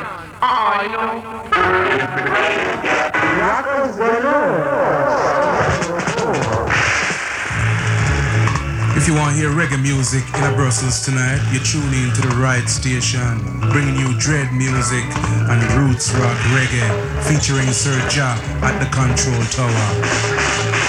I know. If you want to hear reggae music in Brussels tonight, you tune in to the right station, bringing you dread music and roots rock reggae, featuring Sir Ja at the Control Tower.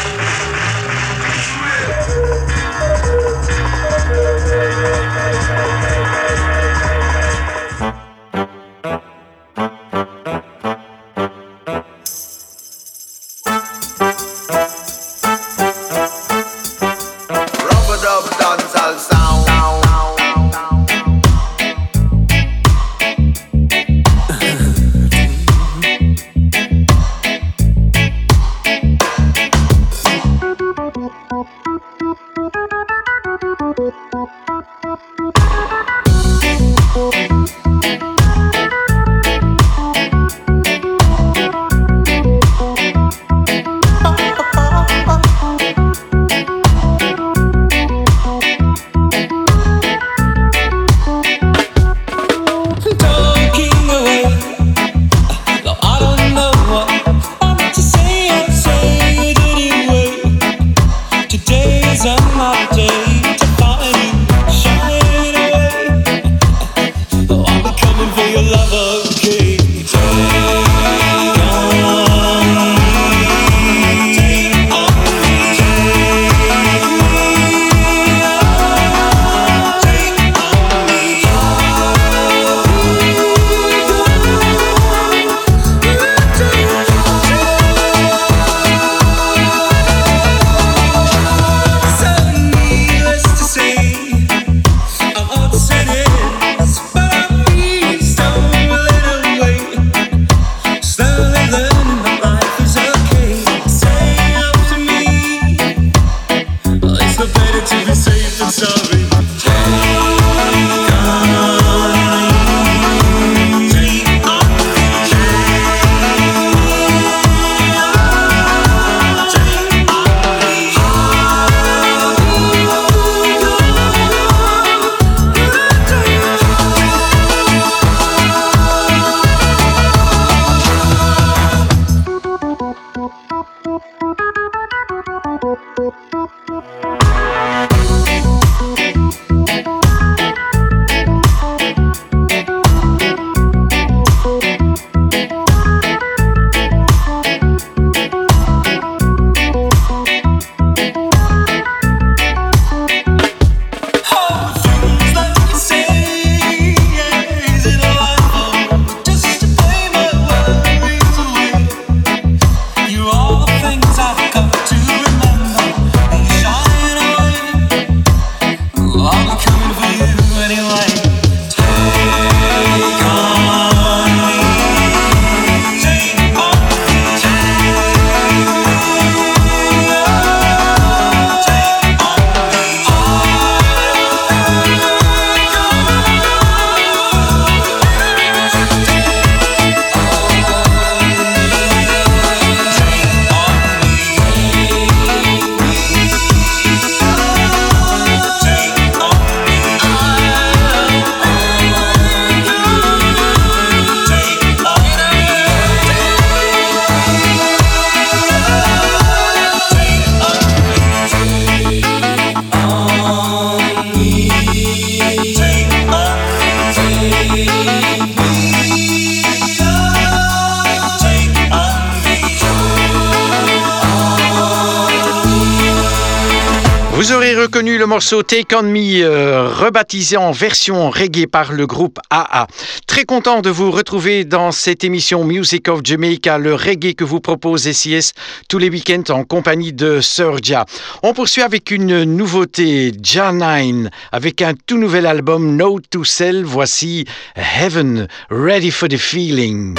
Vous aurez reconnu le morceau Take On Me, rebaptisé en version reggae par le groupe AA. Très content de vous retrouver dans cette émission Music of Jamaica, le reggae que vous propose SIS tous les week-ends en compagnie de Sir Ja. On poursuit avec une nouveauté, Ja9, avec un tout nouvel album Note to Self. Voici Heaven, Ready for the Feeling.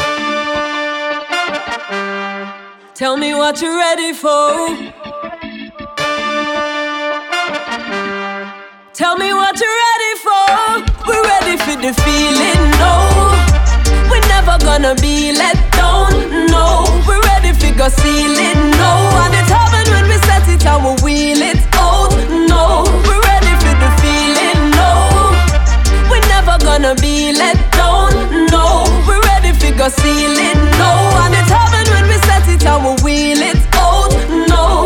Tell me what you're ready for. Tell me what you're ready for. We're ready for the feeling, no. We're never gonna be let down, no. We're ready for go seal it, no. And it's heaven when we set it and we wheel it out, no. We're ready for the feeling, no. We're never gonna be let down, no. We're ready figure ceiling, no. And it's heaven when we set it and we wheel it out, no.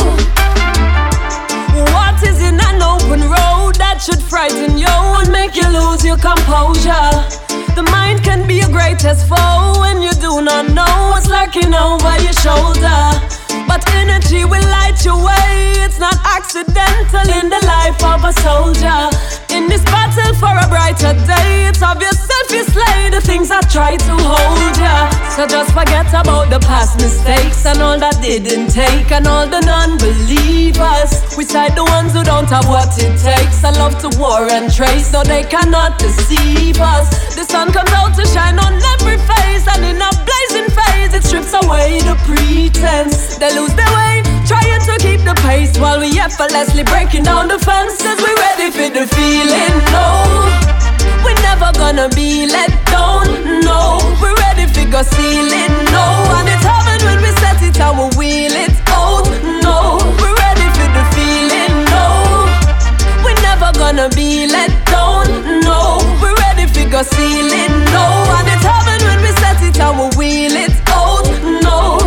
What is in an open road that should frighten you and make you lose your composure? The mind can be your greatest foe when you do not know what's lurking over your shoulder. But energy will light your way. It's not accidental in the life of a soldier. In this battle for a brighter day, it's of yourself you slay the things that try to hold ya. So just forget about the past mistakes and all that didn't take, and all the non-believers. We side the ones who don't have what it takes. I love to war and trace, no they cannot deceive us. The sun comes out to shine on every face, and in a blazing phase it strips away the pretense. They lose their way, trying to keep the pace, while we effortlessly breaking down the fence. Cause we ready for the feeling, no. We're never gonna be let down, no. We're ready for go ceiling, no. And it's heaven when we set it and we wheel it out, no. We're ready for the feeling, no. We're never gonna be let down, no. We're ready for go ceiling, no. And it's heaven when we set it and we wheel it out, no.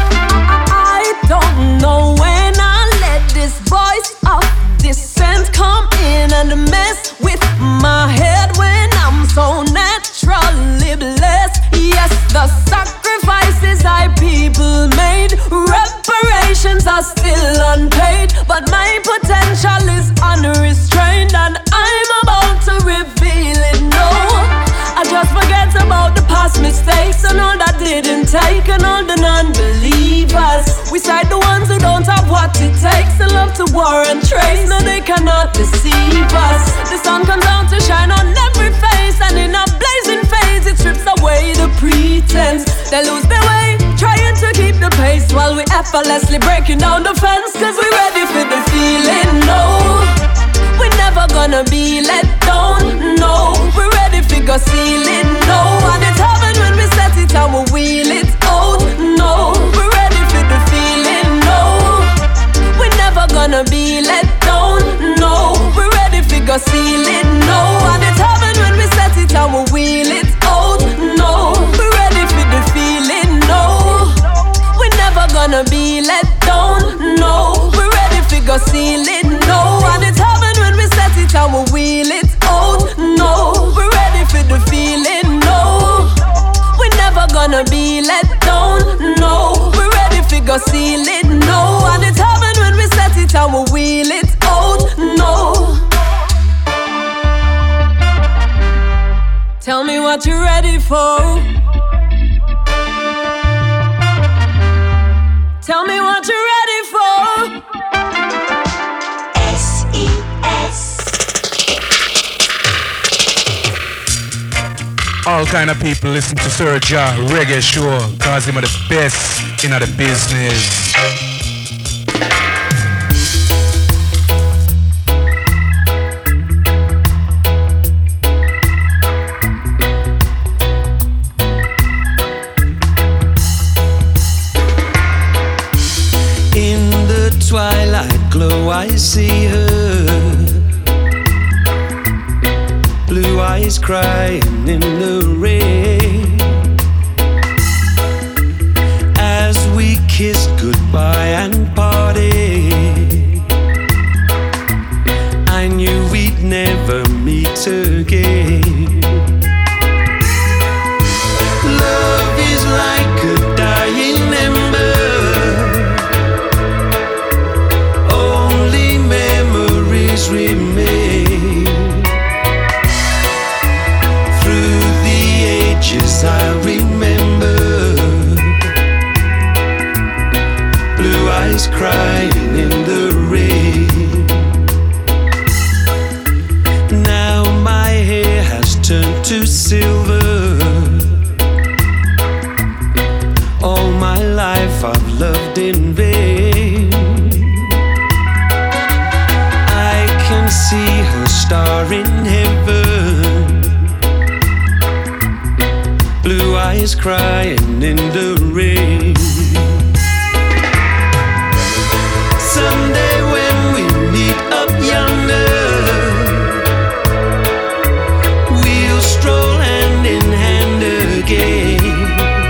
Don't know when I let this voice of dissent come in and mess with my head when I'm so naturally blessed. Yes, the sacrifices I people made, reparations are still unpaid, but my potential is unrestrained and I'm about to reveal it, no. I just forget about the past mistakes and all that didn't take, and all the non-believers. We side the ones who don't have what it takes, and love to war and trace, no they cannot deceive us. The sun comes out to shine on every face, and in a blazing phase it strips away the pretense. They lose their way, trying to keep the pace, while we effortlessly breaking down the fence. Cause we ready for the feeling, no. We're never gonna be let down, no. We're ready for go ceiling, no. And it's heaven when we set it and we wheel it out, no. We're ready for the feeling, no. We're never gonna be let down, no. We're ready for go ceiling, no. And it's heaven when we set it and we wheel it out, no. We're ready for the feeling, no. We're never gonna be let down, no. We're ready for go ceiling, no. And it's heaven when we set it and we wheel it out, no. We're ready for the feeling, no. We're never gonna be let down, no. We're ready for go ceiling, no. And it's heaven when we set it and we wheel it out, no. Tell me what you're ready for. Tell me what you're ready for. All kind of people listen to Sir Ja Reggae Show, cause him are the best in the business. In the twilight glow I see her, blue eyes crying in the rain. As we kissed goodbye and parted, I knew we'd never meet again. Love is like a dying ember, only memories remain. Through the ages I remember, blue eyes crying in the rain. Now my hair has turned to silver, all my life I've loved in vain. I can see her star in heaven, blue eyes crying in the rain. Someday when we meet up yonder, we'll stroll hand in hand again.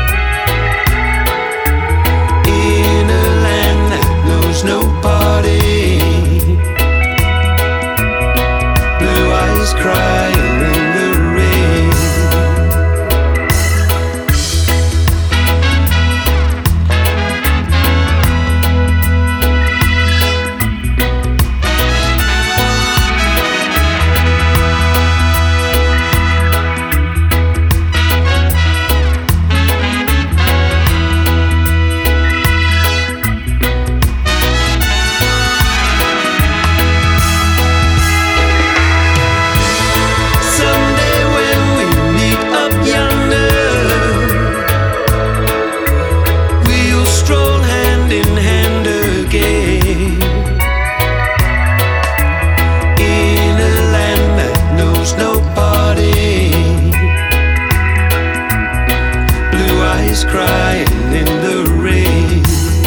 eyes crying in the rain.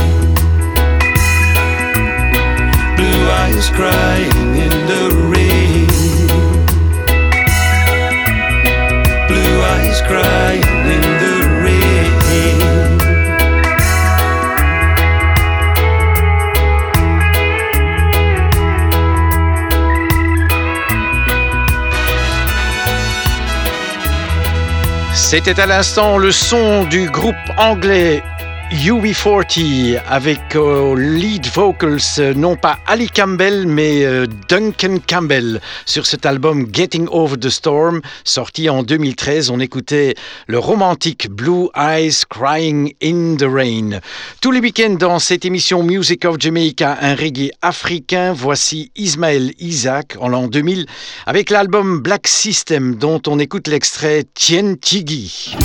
Blue eyes crying in the rain. Blue eyes crying in the rain. C'était à l'instant le son du groupe anglais UB40 avec lead vocals non pas Ali Campbell mais Duncan Campbell sur cet album Getting Over the Storm sorti en 2013. On écoutait le romantique Blue Eyes Crying in the Rain. Tous les week-ends dans cette émission Music of Jamaica, un reggae africain. Voici Ismaël Isaac en l'an 2000 avec l'album Black System dont on écoute l'extrait Tien Tigi.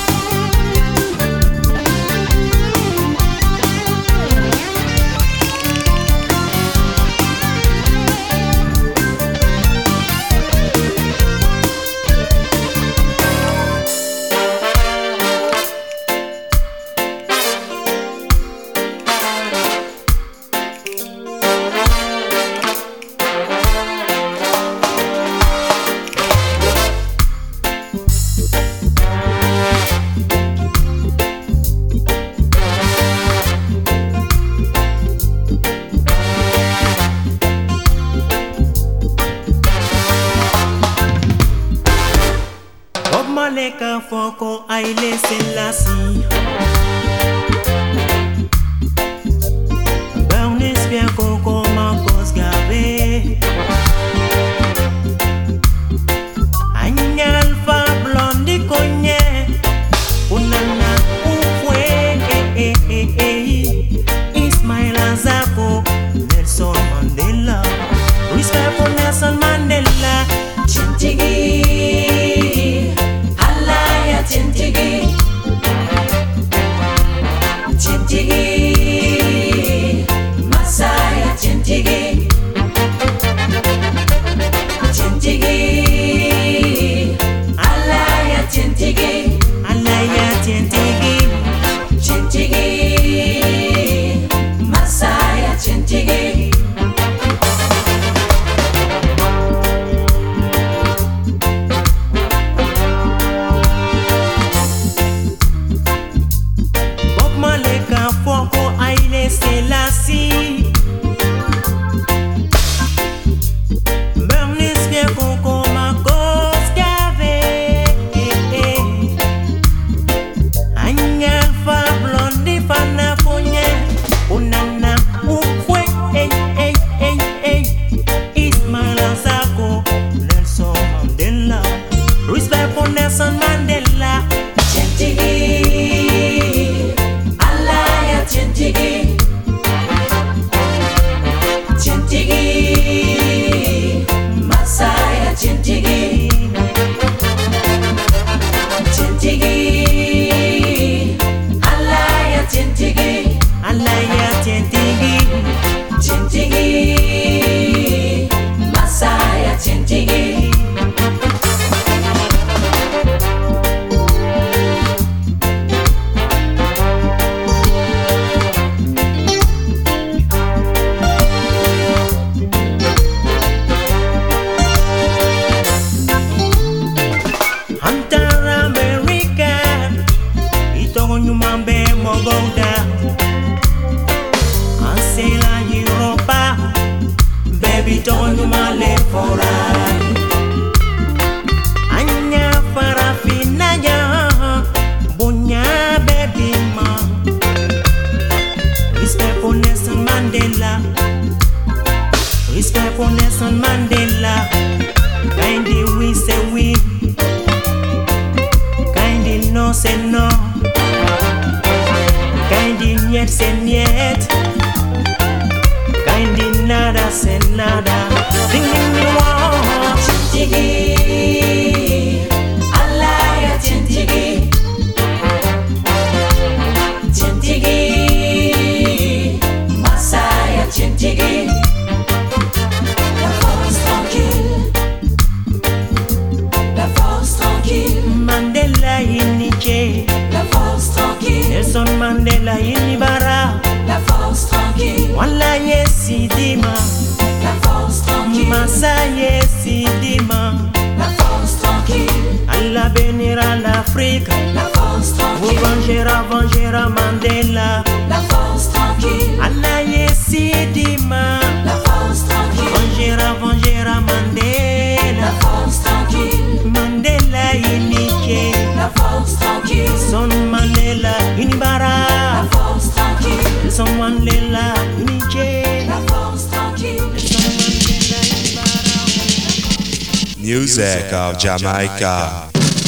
Maleka foko aile selasi Bernice bien koko makos gabe Anyal fa blondi konye Unana ufwe Ismail Azako Nelson Mandela Respect for Nelson Mandela Chintigi Chintigi, Chintigi, Masaya Chintigi, Chintigi, Alaya Chintigi, Alaya Chintigi, Chintigi, Masaya Chintigi. Selassie Bernice bien koko makos gave Anya fa blondi fana fonye Unana ukwe Ismail Azako Nelson Mandela Respect for Nelson Mandela Chintigi Alaya Chintigi Chintigi, Masaya Chintigi, Chintigi, Alaya Chintigi, Alaya Chintigi, Chintigi, Masaya Chintigi. Baby, don't you my live for Anya farafina ya Bunya baby ma Respect for Nelson Mandela Respect for Nelson Mandela Kindly we say we Kindly no say no Kindly yet say yet Kindly nada say nada Ding ding me wow Chintigi Alaya Chintigi Chintigi Masaya Chintigi La force tranquille Mandela inike La force tranquille inibara. La force tranquille. Wala yesidima. La force tranquille. Masa yesidima. La force tranquille. Allah bénira l'Afrique. La force tranquille. Vengera Mandela. La force tranquille. Allah yesidima. La force tranquille. Vengera Mandela. La force tranquille. Mandela inike. La force tranquille. Son Mandela inibara. La force tranquille. Son Mandela inike. La force tranquille. Music of Jamaica.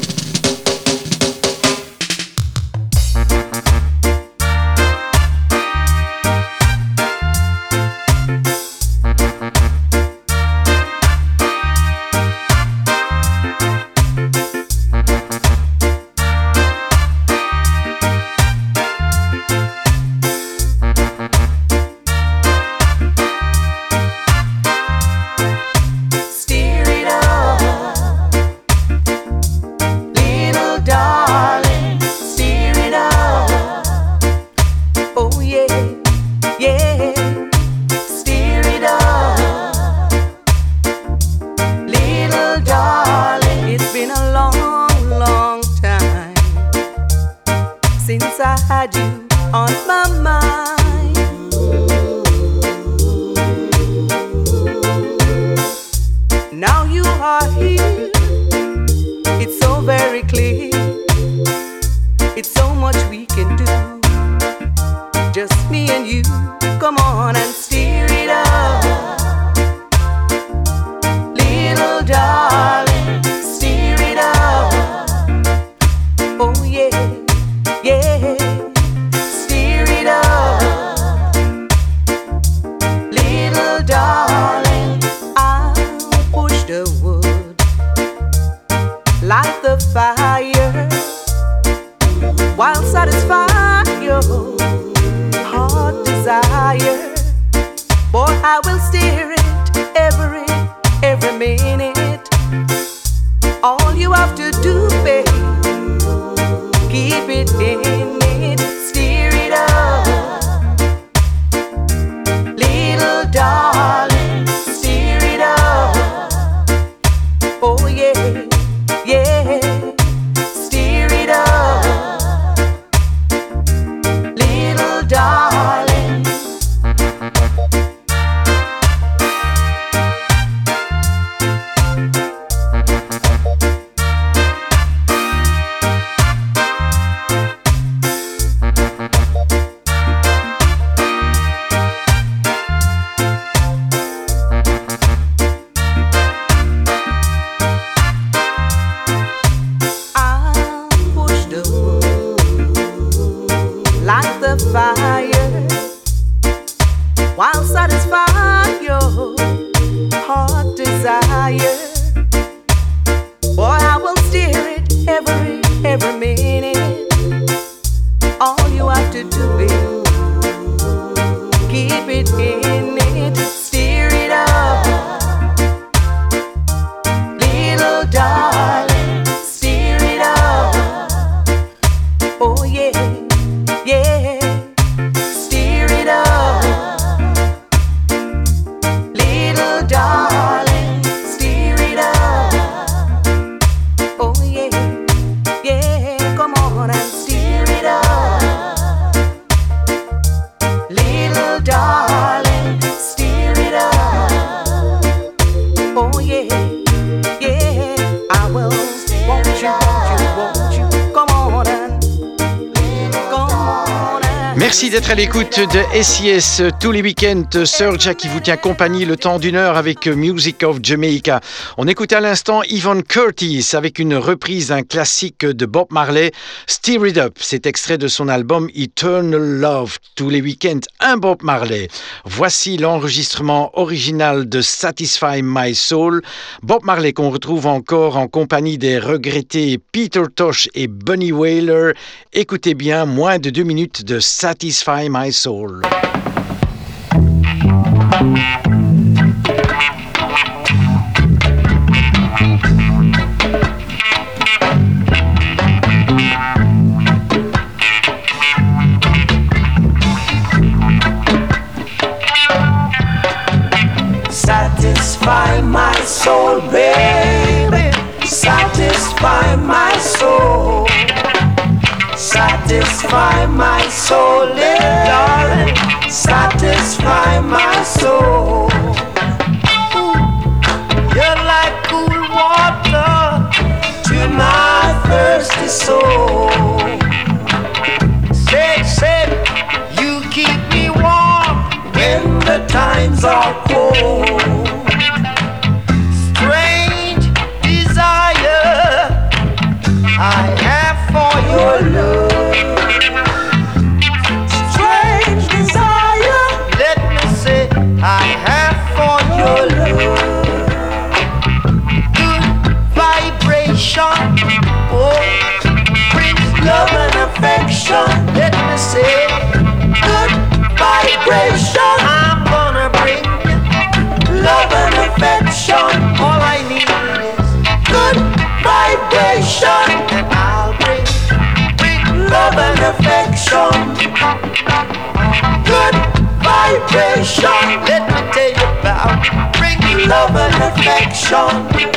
Merci d'être à l'écoute de SIS tous les week-ends. Serja qui vous tient compagnie le temps d'une heure avec Music of Jamaica. On écoute à l'instant Yvonne Curtis avec une reprise d'un classique de Bob Marley, Stir It Up. C'est extrait de son album Eternal Love. Tous les week-ends, un Bob Marley. Voici l'enregistrement original de Satisfy My Soul. Bob Marley qu'on retrouve encore en compagnie des regrettés Peter Tosh et Bunny Wailer. Écoutez bien, moins de 2 minutes de Satisfy My Soul. satisfy my soul, darling, satisfy my soul. You're like cool water to my thirsty soul. Say, you keep me warm when the times are cold. Strange desire I have for your love. Strange desire, let me say, I have for your love. Good vibration, oh, brings love and affection. Let me say, good vibration. I'm gonna bring love and affection. All I need is good vibration, and I'll bring love and affection. Good vibration. Let me tell you about bring love and affection.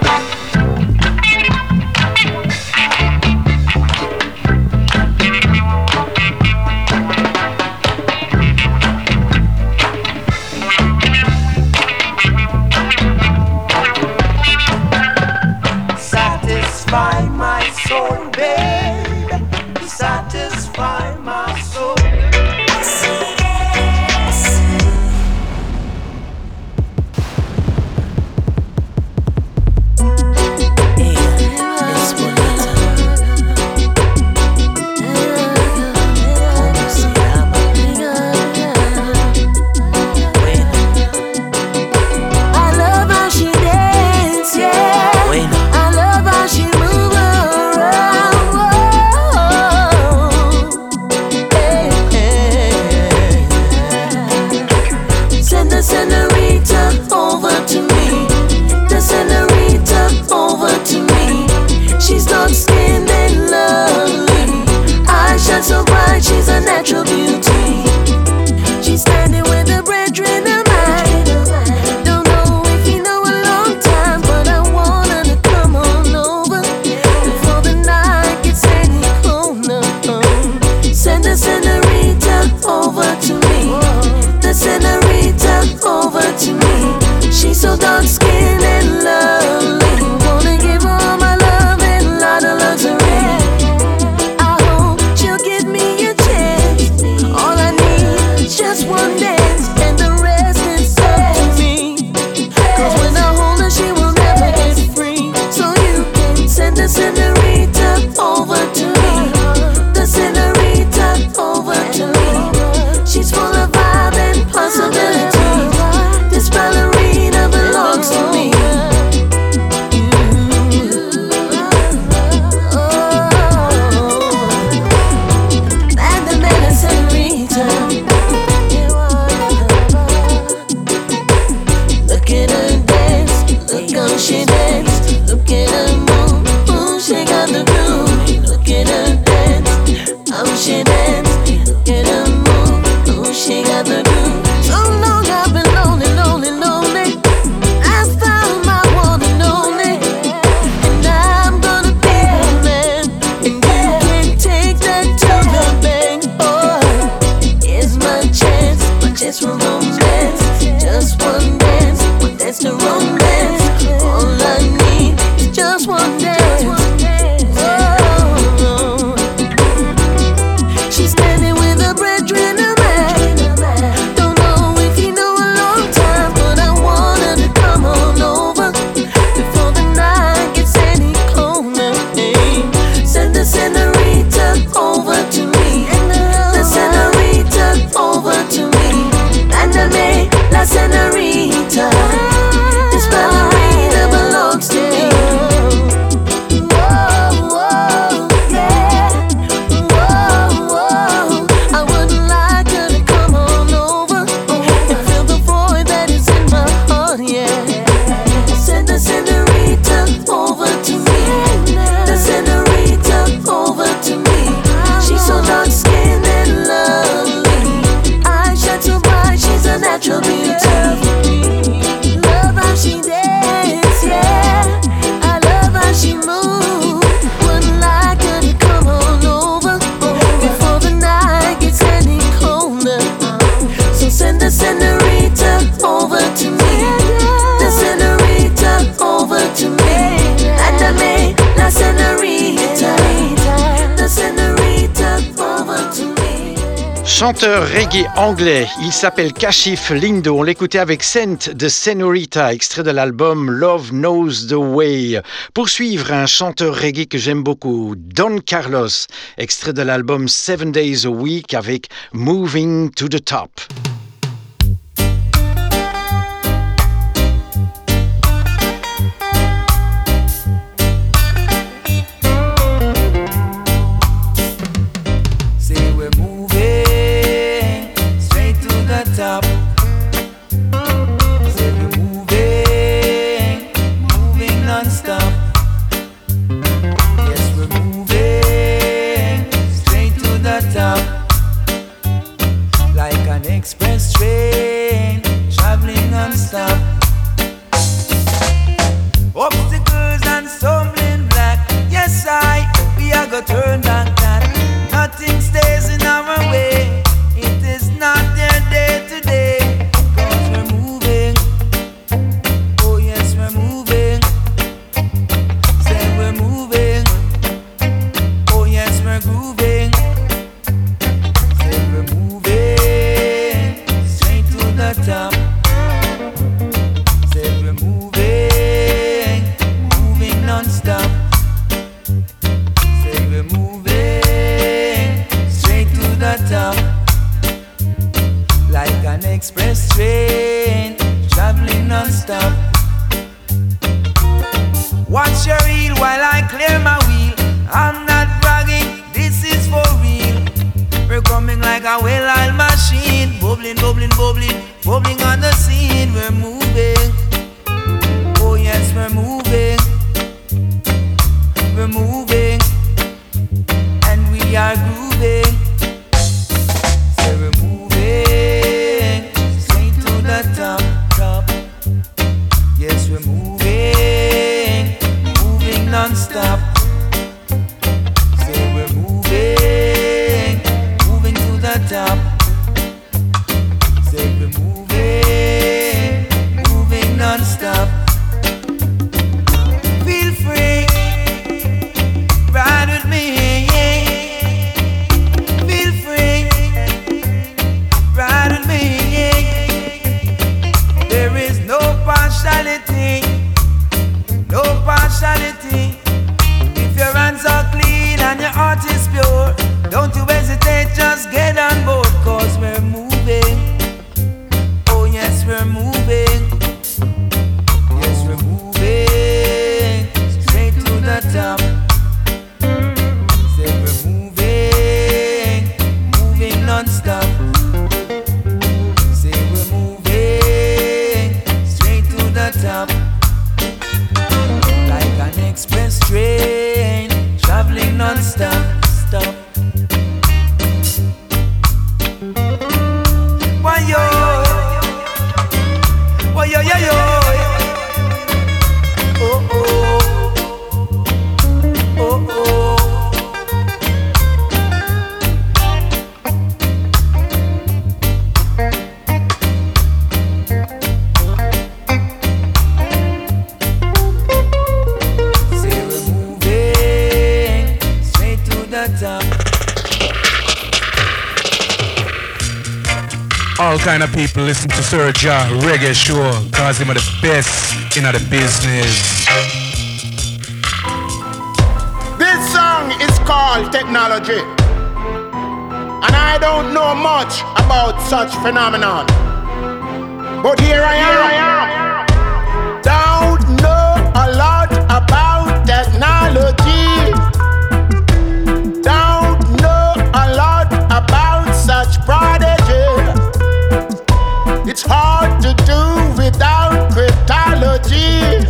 Satisfy my soul, babe. Satisfy my soul. Chanteur reggae anglais, il s'appelle Kashif Lindo. On l'écoutait avec Scent de Senorita, extrait de l'album Love Knows the Way. Pour suivre, un chanteur reggae que j'aime beaucoup, Don Carlos, extrait de l'album 7 Days a Week avec Moving to the Top. Top. Say we're moving non-stop. Yes, we're moving straight to the top, like an express train traveling non-stop. Obstacles and stumbling block. Yes, we are gonna turn back that. Nothing stays in our way. It is not their day today, 'cause we're moving. Oh yes, we're moving. Say we're moving. Oh yes, we're grooving. Say we're moving straight to the top. Say we're moving non-stop. Say we're moving straight to the top, like an express train traveling non-stop. Watch your reel while I clear my wheel. I'm not bragging, this is for real. We're coming like a well-oiled machine, bubbling, bubbling, bubbling, bubbling on the scene. We're moving. Oh yes, we're moving. We're moving, and we are grooving. Say we're moving straight to the top, top. Yes, we're moving non-stop. Say we're moving to the top. Say we're moving non-stop. Feel free, ride with me. Feel free, ride with me. There is no partiality, no partiality. If your hands are clean and your heart is pure, don't you hesitate, just get on board, 'cause we're moving. Oh yes, we're moving. Yes, we're moving straight to the top. Say we're moving non-stop. Say we're moving straight to the top, like an express train traveling non-stop. Stop. Why yo? Why yo yo yo? Oh oh. Oh oh. Say we're moving straight to the top. All kind of people listen to Sir Ja Reggae Show, cause him are the best in the business. This song is called Technology, and I don't know much about such phenomenon, but here I am. Don't know a lot about technology. Don't know a lot about such prodigy. It's hard to do without cryptology.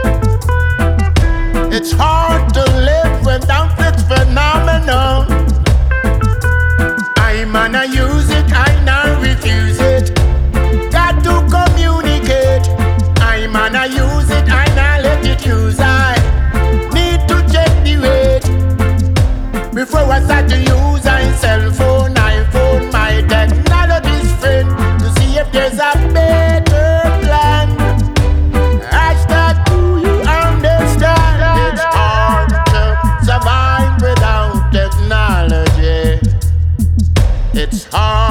It's hard to live without this phenomenon. I'm gonna use it, I now refuse it. Got to communicate. I'm gonna use it, I now let it use. I need to check the weight before I start to use my cell phone, iPhone, my technology's friend, to see if there's a better plan. Hashtag, do you understand? It's hard to survive without technology. It's hard.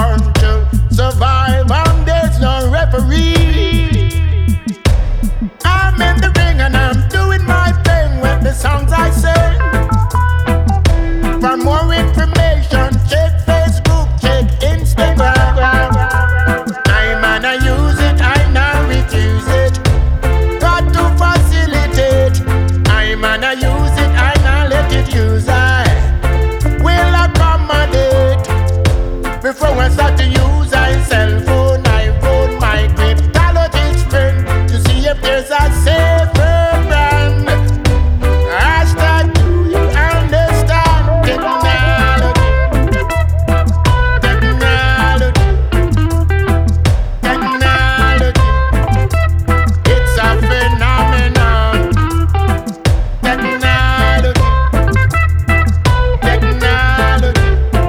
before I start to use my cell phone, iPhone, my cryptologist friend to see if there's a safer brand. Hashtag, do you understand technology? Technology, technology, it's a phenomenon. Technology, technology,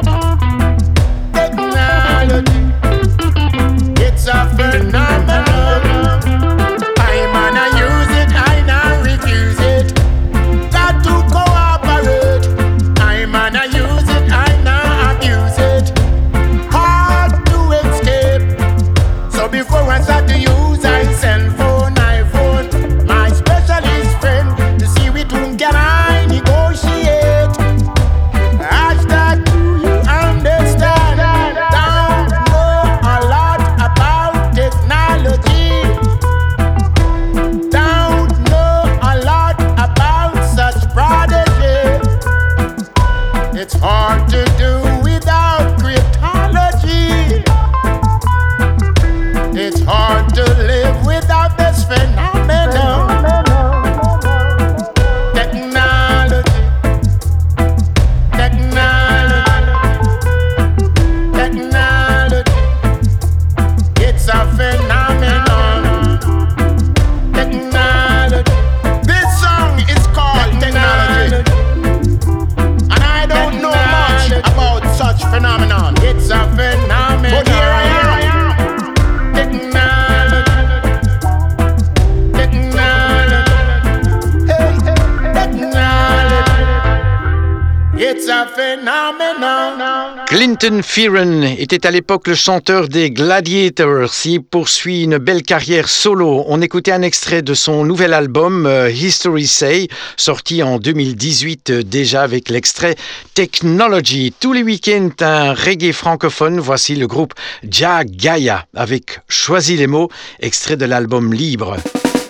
technology, it's a phenomenon. I'm gonna use it, I now refuse it. Got to cooperate. I'm gonna use it, I now abuse it. Hard to escape. So before I start to use my cell phone, iPhone, my specialist friend to see with whom can I negotiate. Hashtag, do you understand? Don't know a lot about technology. Don't know a lot about such prodigy. It's hard to do without cryptology. It's hard to live without this phenomenon. Technology, technology, technology, it's a phenomenon. Technology. This song is called Technology, and I don't know much about such phenomenon. It's a phenomenon. But here I am. Technology, technology, hey, technology, it's a phenomenon. Clinton Fearon était à l'époque le chanteur des Gladiators. Il poursuit une belle carrière solo. On écoutait un extrait de son nouvel album History Say, sorti en 2018 déjà avec l'extrait Technology. Tous les week-ends, un reggae francophone. Voici le groupe Jah Gaia avec Choisis les mots, extrait de l'album Libre.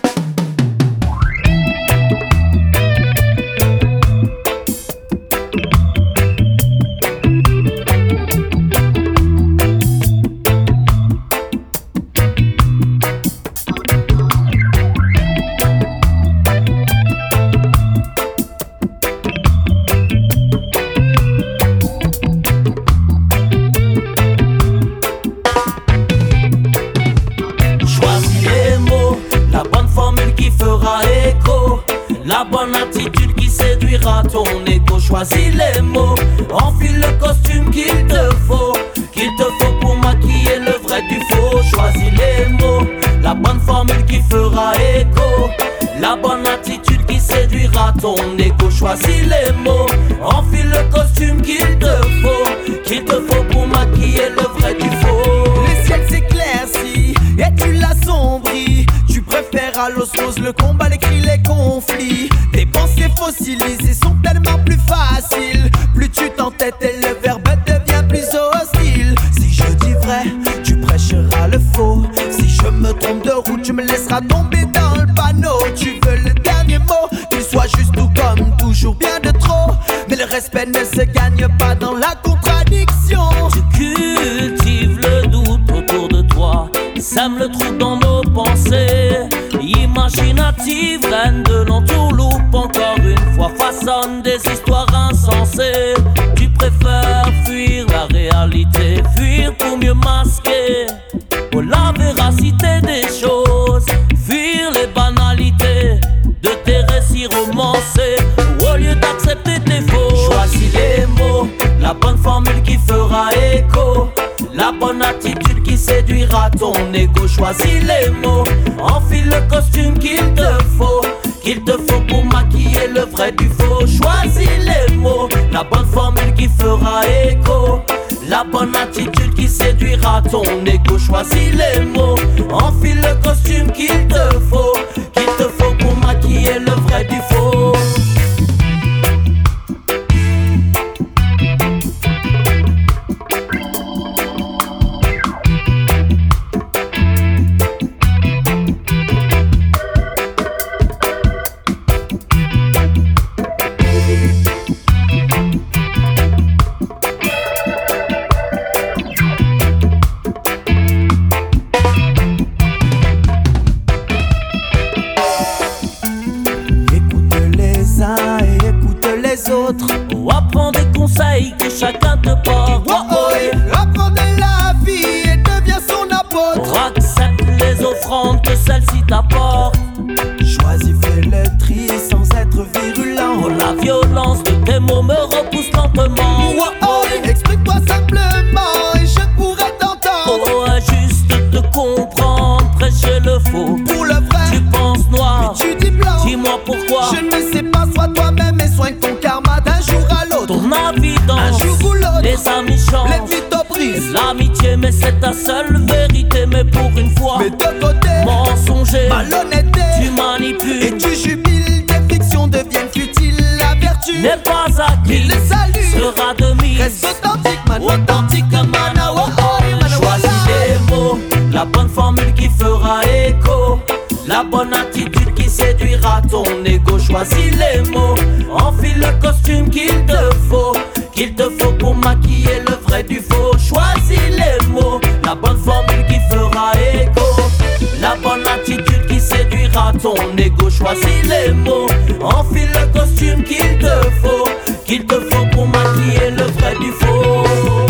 La bonne attitude qui séduira ton égo. Choisis les mots, enfile le costume qu'il te faut pour maquiller le vrai du faux. Choisis les mots, la bonne formule qui fera écho. La bonne attitude qui séduira ton égo. Choisis les mots, enfile le costume qu'il te faut pour maquiller le vrai du faux. Le ciel s'éclaircit et tu l'assombris. Tu préfères à l'osmose le combat, les cris, les conflits. Tes pensées fossilisées sont tellement plus faciles. Plus tu t'entêtes et le verbe devient plus hostile. Si je dis vrai, tu prêcheras le faux. Si je me trompe de route, tu me laisseras tomber dans le panneau. Tu veux le dernier mot, qu'il soit juste ou comme toujours bien de trop. Mais le respect ne se gagne pas dans la contradiction. Tu cultives le doute autour de toi, sème le trouble dans nos pensées. Imaginative, reine de l'entourloupe, encore une fois façonne des histoires insensées. Tu préfères fuir la réalité, fuir pour mieux masquer pour la véracité des choses, fuir les banalités de tes récits romancés, au lieu d'accepter tes faux. Choisis les mots, la bonne formule qui fera écho, la bonne attitude qui séduira ton égo. Choisis les mots, enfile le costume qu'il te faut pour maquiller le vrai du faux. Choisis les mots, la bonne formule qui fera écho, la bonne attitude qui séduira ton égo. Choisis les mots, enfile le costume qu'il te faut pour maquiller le vrai du faux. porte. Apprends de la vie et deviens son apôtre. Accepte les offrandes que celle-ci t'apporte. Choisis, fais le tri sans être virulent. Oh, la violence de tes mots me repousse lentement. Exprime-toi simplement et je pourrais t'entendre. Oh, juste te comprendre, prêcher le faux. Pour le vrai, tu penses noir, mais tu dis blanc. Dis-moi pourquoi. Je ne sais pas, sois toi-même et soigne ton karma d'un jour à l'autre. Ton évidence, un jour ou l'autre, les amis changent, les vies te brisent. L'amitié, mais c'est ta seule vérité. Mais pour une fois, mais de côté, mensonger, malhonnêteté, tu manipules et tu jubiles. Tes fictions deviennent futiles. La vertu n'est pas acquis, le salut sera de mise. Reste authentique, man. Choisis les mots, la bonne formule qui fera écho, la bonne attitude qui séduira ton ego. Choisis les mots, enfile le costume qu'il te faut pour maquiller le vrai du faux. Choisis les mots, la bonne formule qui fera écho, la bonne attitude qui séduira ton ego. Choisis les mots, enfile le costume qu'il te faut pour maquiller le vrai du faux.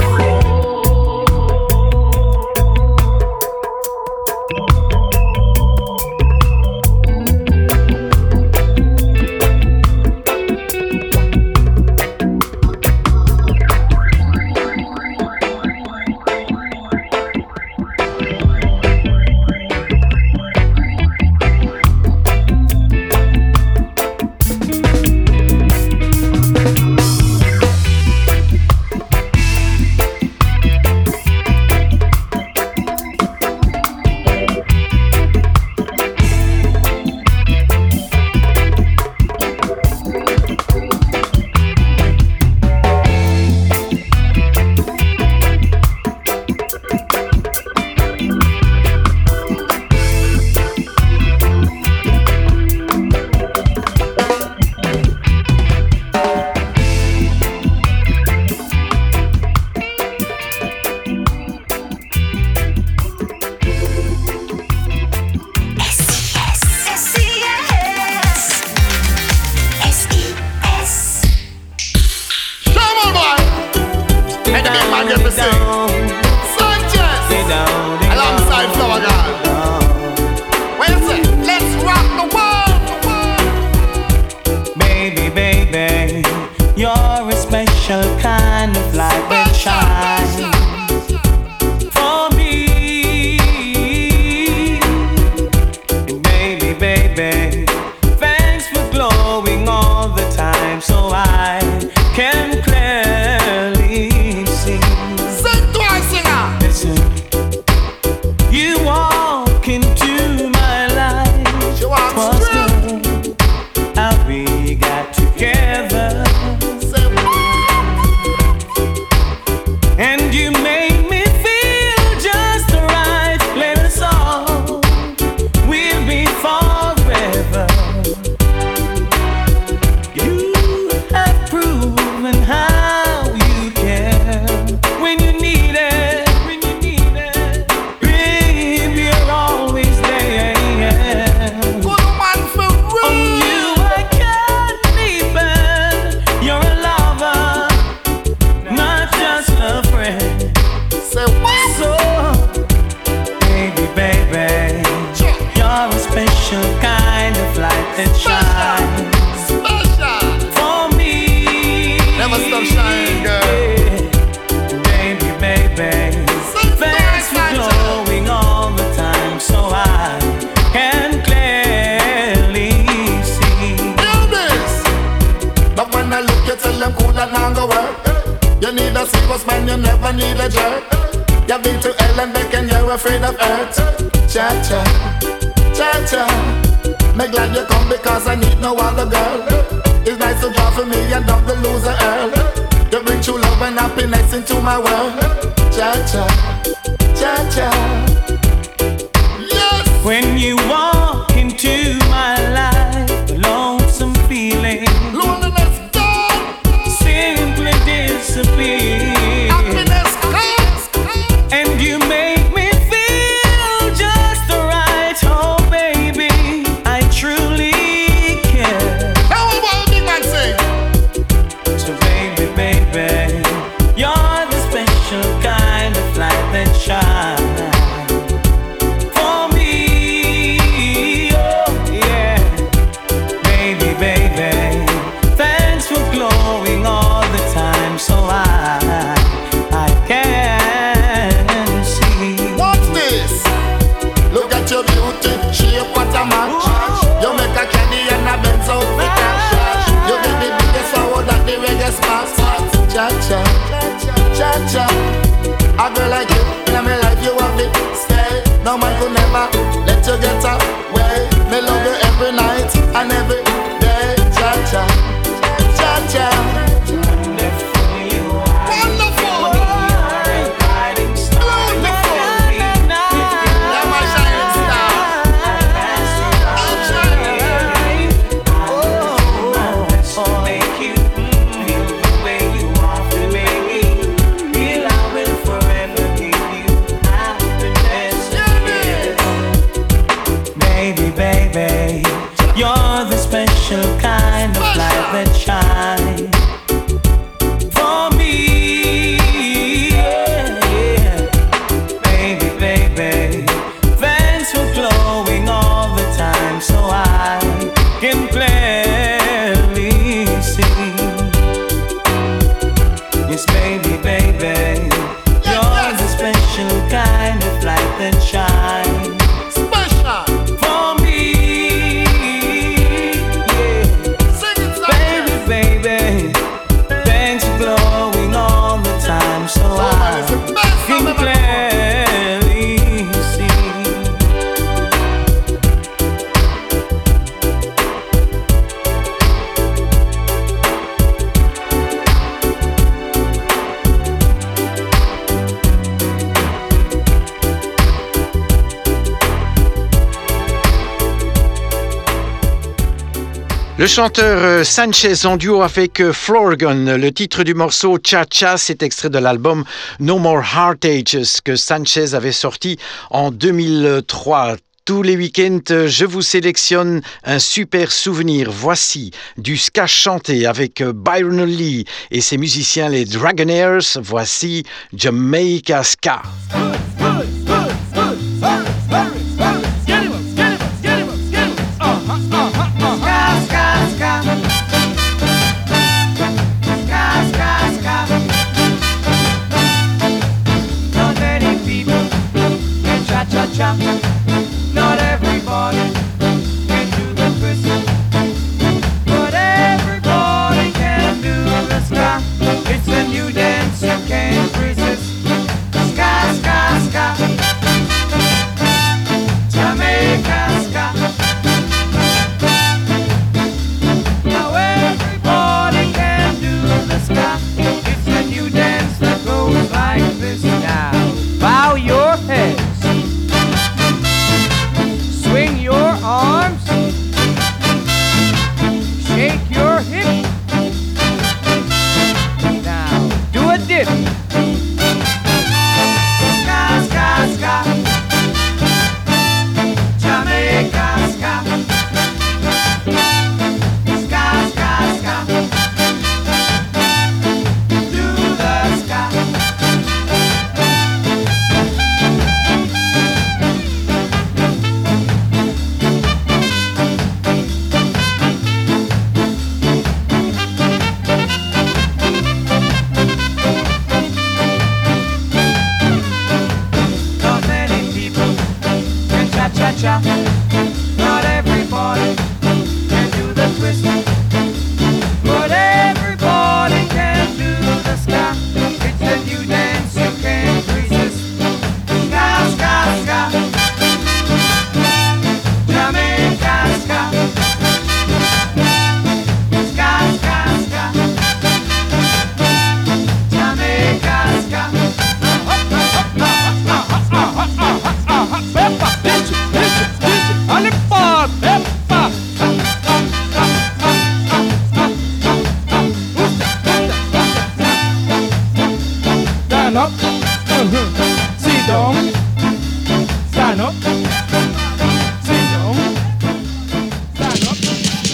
When you walk into my life, a lonesome feeling, loneliness gone, simply disappear. happiness comes, And you make me feel just right. Oh baby, I truly care. How about big man sing? So baby, baby, you're the cha. A girl like you, in my life you have to stay. No man could never let you get away. Me love you every night and every day. Cha cha, cha cha. Kind of light that shine for me, yeah. Baby, baby, thanks for glowing all the time, so I can clearly see. Yes, baby, baby, you're the special kind of light that shine. Le chanteur Sanchez en duo avec Florgan. Le titre du morceau Cha Cha, c'est extrait de l'album No More Heartaches que Sanchez avait sorti en 2003. Tous les week-ends, je vous sélectionne un super souvenir. Voici du ska chanté avec Byron Lee et ses musiciens les Dragonaires. Voici Jamaica Ska. Not everybody can do the twist, but everybody can do the ska. It's a new dance you can't resist. Ska, ska, ska. Jamaica ska. Now everybody can do the ska. It's a new dance that goes like this. Now bow your head. Swing your arms, shake your hips. Now do a dip. Ska, ska, ska. Jamaica ska. Ska, ska, ska. Do the ska. Cha-cha. Not everybody can do the twist, but everybody can do the ska. It's a new dance you can't resist. Ska, ska, ska. Jamaica ska. Ska, ska, ska. Jamaica ska. Stand up, sit down, stand up, sit down, stand up.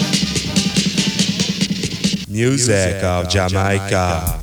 Music of Jamaica.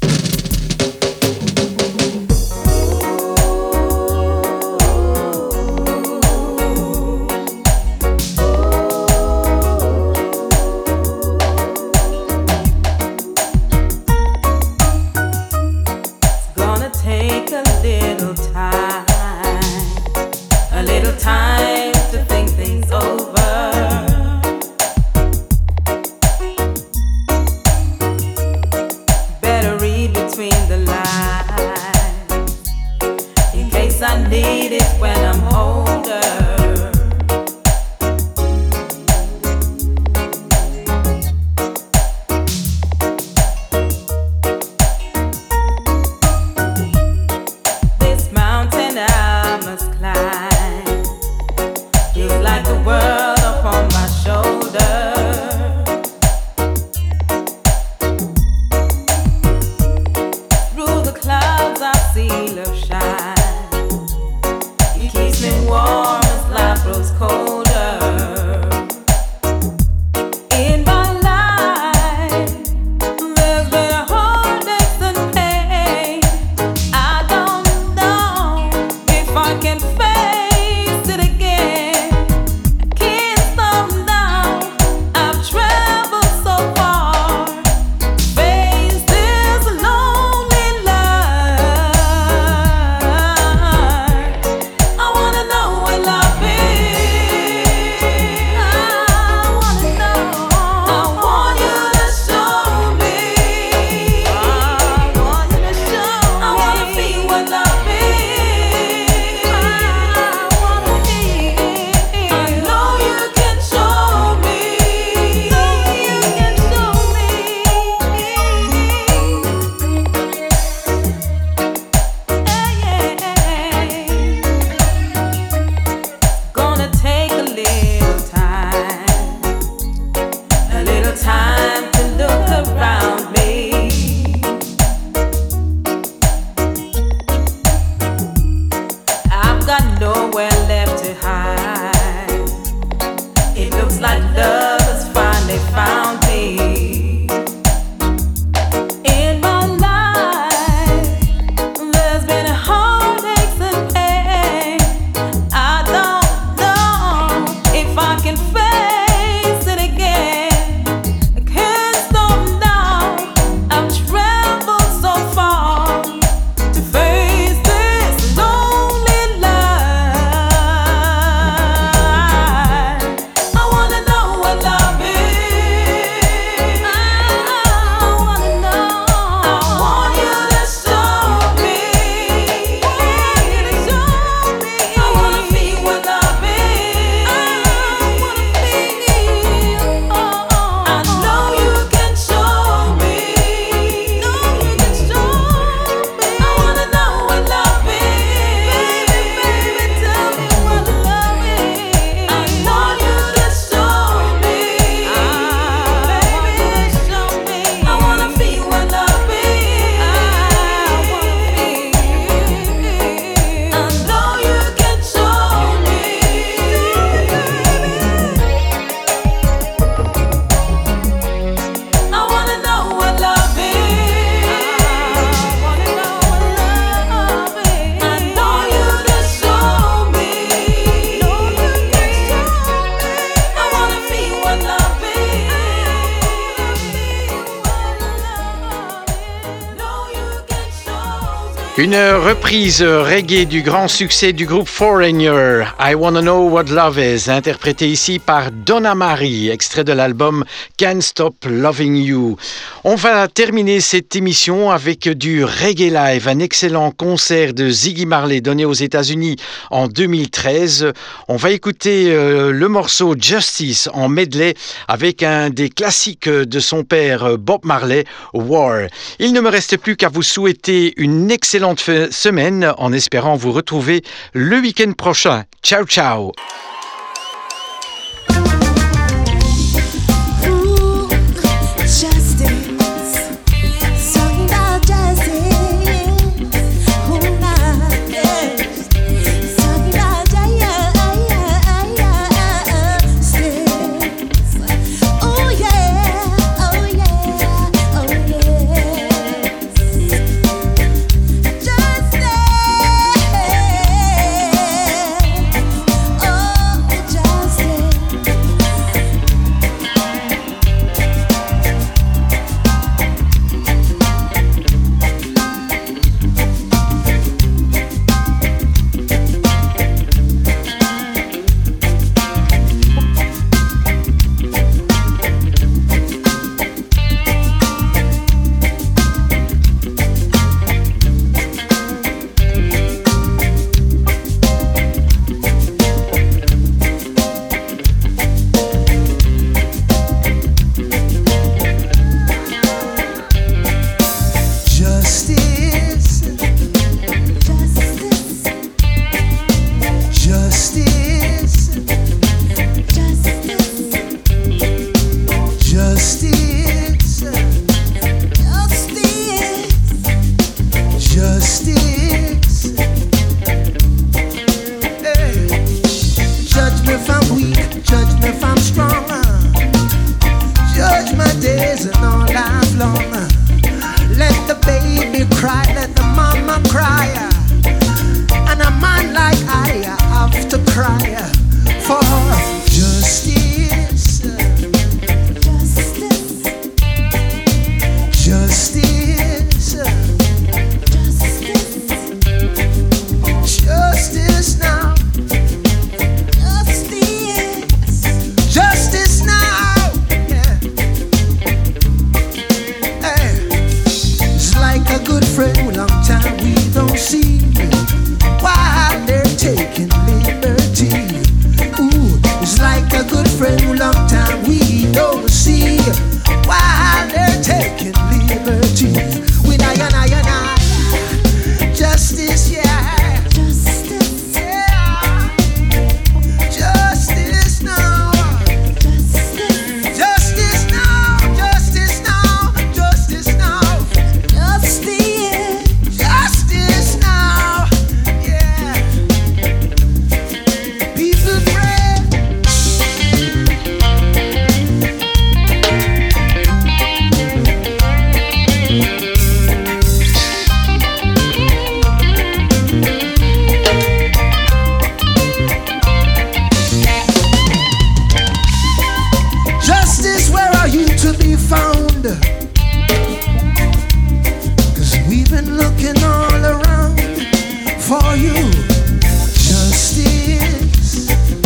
Between the lines. peace I need is when I'm older. This mountain I must climb feels like the world upon my shoulder. Through the clouds I see love shine. It keeps me warm as life grows colder. In my life, there's been heartaches and pain. I don't know if I can face it again. I can't stop now. I've traveled so far. Face this lonely life. I wanna know what love is. I wanna know. I want you to show me. I want you to show me. I wanna feel what love is. I wanna feel. I know you can show me. You can show me. Gonna take a little time to look around me. I've got nowhere left to hide. It looks like love has finally found me. In my life, there's been heartaches and pain. I don't know if I can face it again. I can't stop now. I've traveled so far to face this lonely life. I wanna know what love is. I wanna know. I want you to show me. I wanna feel what love is. I wanna feel. I know you can show me. You can show me. I wanna know what love is. Baby, tell me what love is. I want you to show me. Baby, show me. I wanna feel what love is. I wanna feel. I know you can show me. I wanna know what love is. I wanna know what love is. I know you to show me. You can show me. I wanna feel what love is. Know you can show me. Une reprise reggae du grand succès du groupe Foreigner, I Wanna Know What Love Is, interprété ici par Donna Marie, extrait de l'album Can't Stop Loving You. On va terminer cette émission avec du reggae live, un excellent concert de Ziggy Marley donné aux États-Unis en 2013. On va écouter le morceau Justice en medley avec un des classiques de son père Bob Marley, War. Il ne me reste plus qu'à vous souhaiter une excellente semaine en espérant vous retrouver le week-end prochain. Ciao, ciao! Oh cry for justice. Justice. Justice now. Justice now. Yeah. Hey. It's like a good friend, long time we don't see. While they're taking liberty. Ooh, it's like a good friend, long time we don't see. While they're taking liberty. With I. Justice, yeah. Justice, yeah. Justice now. Justice now. Justice now. Justice now. Justice now. Yeah. People pray. Justice, where are you to be found? 'Cause we've been looking all around for you. Justice.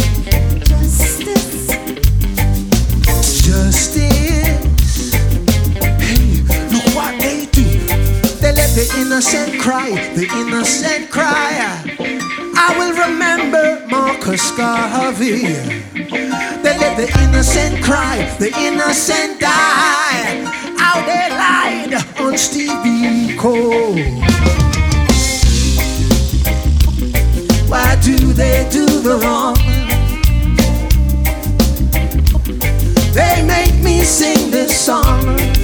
Justice. Hey, look what they do. They let the innocent cry, the innocent cry. I will remember Marcus Garvey. They let the innocent cry, the innocent die. How they lied on Stevie Cole. Why do they do the wrong? They make me sing this song.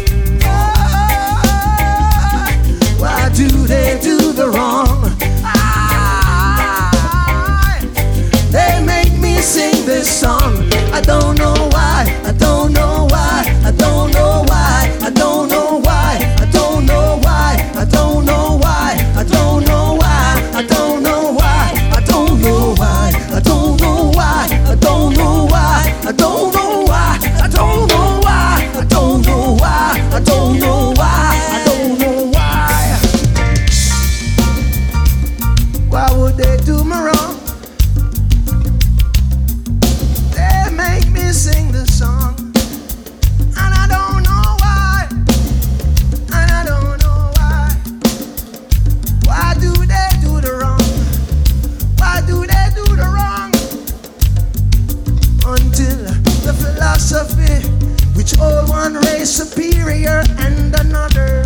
Why do they do the wrong? They make me sing this song. I don't know why, I don't know why, I don't know why, I don't know why, I don't know why, I don't know why, I don't know why, I don't know why, I don't know why, I don't know why, I don't know why, I don't know why, I don't know why, I don't know why, I don't know why, I don't know why. Why would they do me wrong? They make me sing this song, and I don't know why, and I don't know why. Why do they do the wrong? Why do they do the wrong? Until the philosophy which all one race superior and another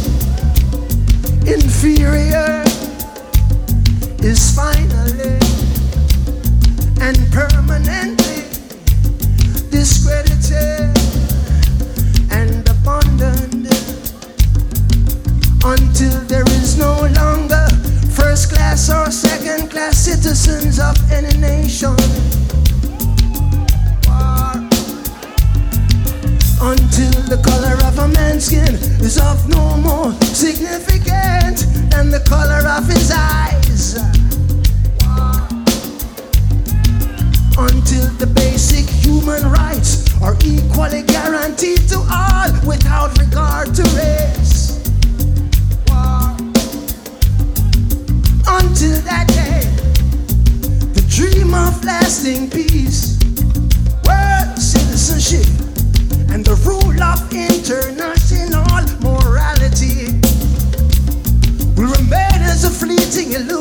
inferior is finally and permanently discredited and abandoned, until there is no longer first class or second class citizens of any nation. Until the color of a man's skin is of no more significant than the color of his eyes. Until the basic human rights are equally guaranteed to all without regard to race. Until that day, the dream of lasting peace, world citizenship, and the rule of international morality will remain as a fleeting illusion.